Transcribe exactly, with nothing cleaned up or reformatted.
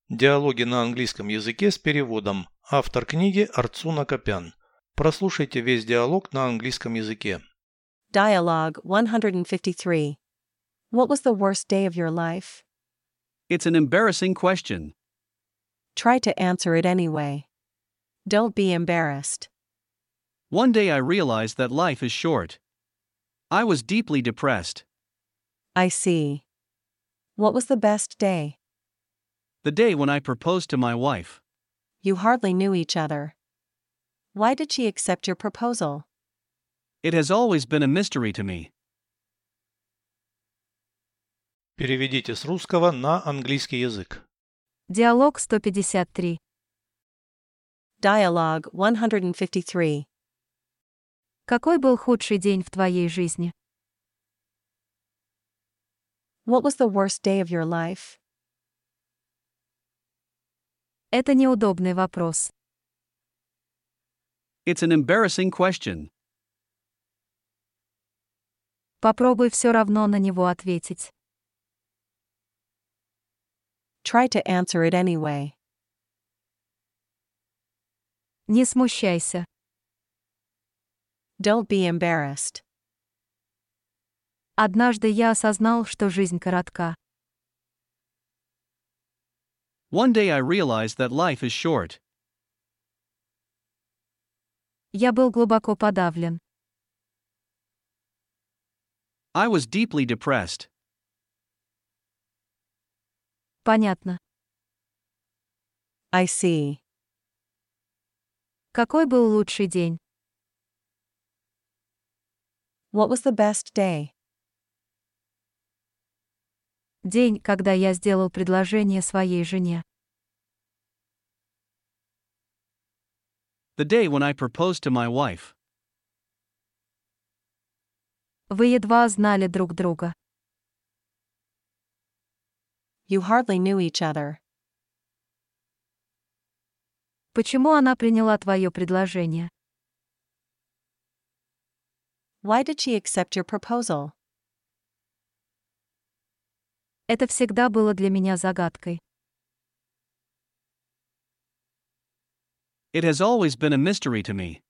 Диалоги на английском языке с переводом. Автор книги Арцуна Копян. Прослушайте весь диалог на английском языке. Dialogue one fifty-three. What was the worst day of your life? It's an embarrassing question. Try to answer it anyway. Don't be embarrassed. One day I realized that life is short. I was deeply depressed. I see. What was the best day? The day when I proposed to my wife. You hardly knew each other. Why did she accept your proposal? It has always been a mystery to me. Переведите с русского на английский язык. Диалог сто пятьдесят три. Dialogue one fifty-three. Какой был худший день в твоей жизни? What was the worst day of your life? Это неудобный вопрос. It's an embarrassing question. Попробуй все равно на него ответить. Try to answer it anyway. Не смущайся. Don't be embarrassed. Однажды я осознал, что жизнь коротка. One day I realized that life is short. Я был глубоко подавлен. I was deeply depressed. Понятно. I see. Какой был лучший день? What was the best day? День, когда я сделал предложение своей жене. The day when I proposed to my wife. Вы едва знали друг друга. You hardly knew each other. Почему она приняла твое предложение? Why did she accept your proposal? Это всегда было для меня загадкой. It has always been a mystery to me.